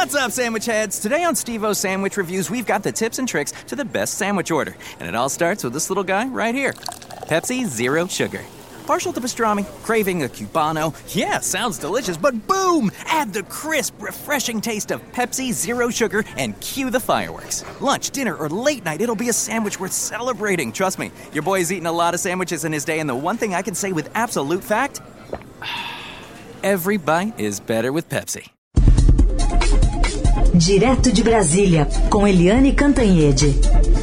What's up, sandwich heads? Today on Steve-O's Sandwich Reviews, we've got the tips and tricks to the best sandwich order. And it all starts with this little guy right here. Pepsi Zero Sugar. Partial to pastrami, craving a Cubano. Yeah, sounds delicious, but boom! Add the crisp, refreshing taste of Pepsi Zero Sugar and cue the fireworks. Lunch, dinner, or late night, it'll be a sandwich worth celebrating. Trust me, your boy's eaten a lot of sandwiches in his day, and the one thing I can say with absolute fact, every bite is better with Pepsi. Direto de Brasília, com Eliane Cantanhede.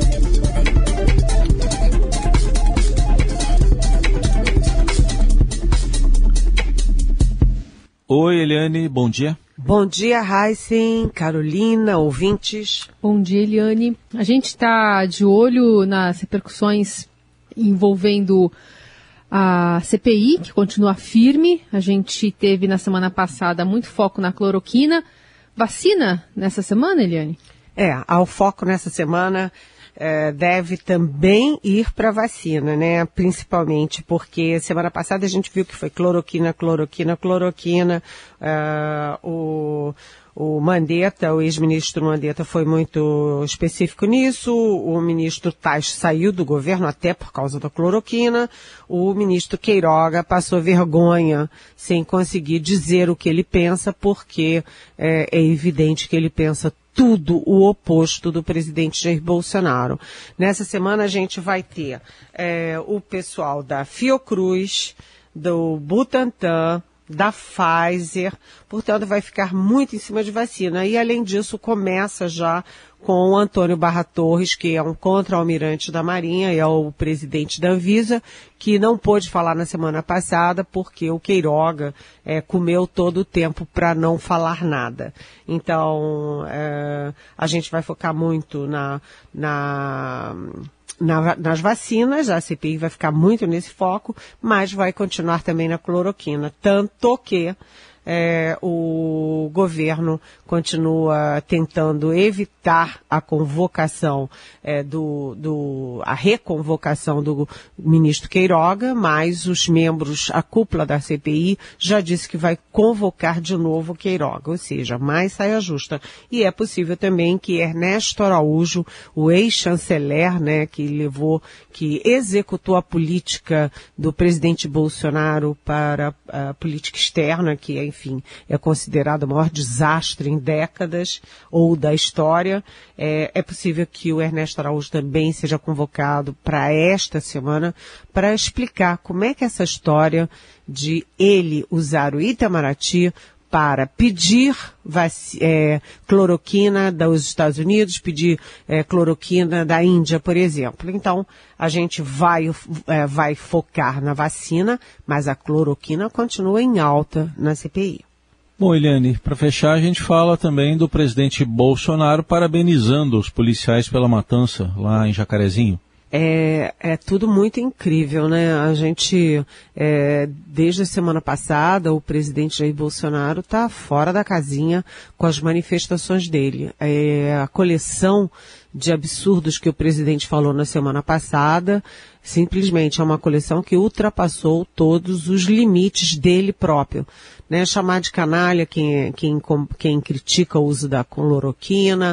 Oi, Eliane, bom dia. Bom dia, Heisen, Carolina, ouvintes. Bom dia, Eliane. A gente está de olho nas repercussões envolvendo a CPI, que continua firme. A gente teve na semana passada muito foco na cloroquina. Vacina nessa semana, Eliane? Ao foco nessa semana deve também ir para vacina, né? Principalmente porque semana passada a gente viu que foi cloroquina. O Mandetta, o ex-ministro Mandetta, foi muito específico nisso. O ministro Tais saiu do governo até por causa da cloroquina. O ministro Queiroga passou vergonha sem conseguir dizer o que ele pensa, porque é evidente que ele pensa tudo o oposto do presidente Jair Bolsonaro. Nessa semana a gente vai ter o pessoal da Fiocruz, do Butantan, da Pfizer, portanto vai ficar muito em cima de vacina. E além disso começa já com o Antônio Barra Torres, que é um contra-almirante da Marinha e é o presidente da Anvisa, que não pôde falar na semana passada porque o Queiroga comeu todo o tempo para não falar nada. Então, a gente vai focar muito nas vacinas, a CPI vai ficar muito nesse foco, mas vai continuar também na cloroquina, tanto que o governo continua tentando evitar a convocação, a reconvocação do ministro Queiroga, mas os membros, a cúpula da CPI já disse que vai convocar de novo o Queiroga, ou seja, mais saia justa. E é possível também que Ernesto Araújo, o ex-chanceler, né, que executou a política do presidente Bolsonaro para a política externa, que enfim, é considerado o maior desastre em décadas ou da história. É possível que o Ernesto Araújo também seja convocado para esta semana para explicar como é que essa história de ele usar o Itamaraty para pedir cloroquina dos Estados Unidos, pedir cloroquina da Índia, por exemplo. Então, a gente vai focar na vacina, mas a cloroquina continua em alta na CPI. Bom, Eliane, para fechar, a gente fala também do presidente Bolsonaro parabenizando os policiais pela matança lá em Jacarezinho. É tudo muito incrível, né? A gente, desde a semana passada, o presidente Jair Bolsonaro está fora da casinha com as manifestações dele. A coleção de absurdos que o presidente falou na semana passada, simplesmente é uma coleção que ultrapassou todos os limites dele próprio. Né, chamar de canalha quem critica o uso da cloroquina,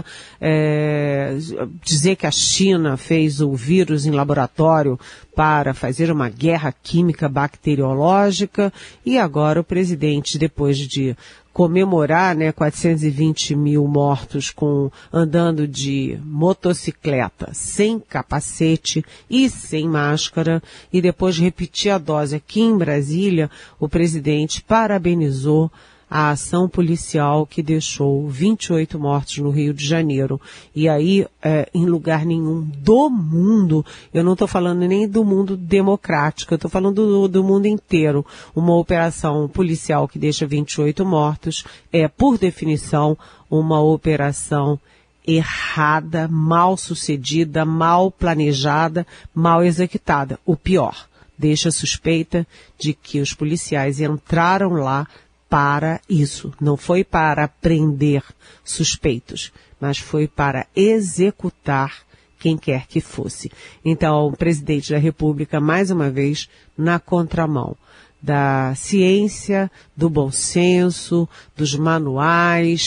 dizer que a China fez o vírus em laboratório para fazer uma guerra química bacteriológica, e agora o presidente, depois de comemorar, 420 mil mortos andando de motocicleta, sem capacete e sem máscara, e depois repetir a dose aqui em Brasília, o presidente parabenizou a ação policial que deixou 28 mortos no Rio de Janeiro. E aí, em lugar nenhum do mundo, eu não estou falando nem do mundo democrático, eu estou falando do mundo inteiro. Uma operação policial que deixa 28 mortos é, por definição, uma operação errada, mal sucedida, mal planejada, mal executada. O pior, deixa suspeita de que os policiais entraram lá para isso. Não foi para prender suspeitos, mas foi para executar quem quer que fosse. Então, o presidente da República, mais uma vez, na contramão da ciência, do bom senso, dos manuais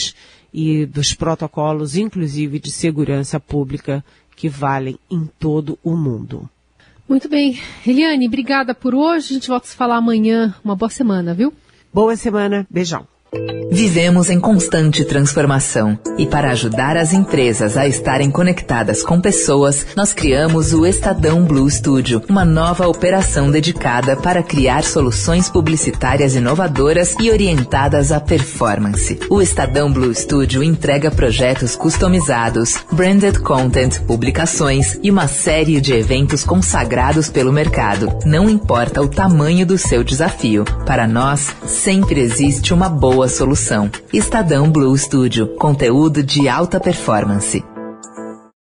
e dos protocolos, inclusive de segurança pública, que valem em todo o mundo. Muito bem. Eliane, obrigada por hoje. A gente volta a se falar amanhã. Uma boa semana, viu? Boa semana. Beijão. Vivemos em constante transformação e para ajudar as empresas a estarem conectadas com pessoas, nós criamos o Estadão Blue Studio, uma nova operação dedicada para criar soluções publicitárias inovadoras e orientadas à performance. O Estadão Blue Studio entrega projetos customizados, branded content, publicações e uma série de eventos consagrados pelo mercado. Não importa o tamanho do seu desafio, para nós sempre existe uma boa solução. Estadão Blue Studio, conteúdo de alta performance.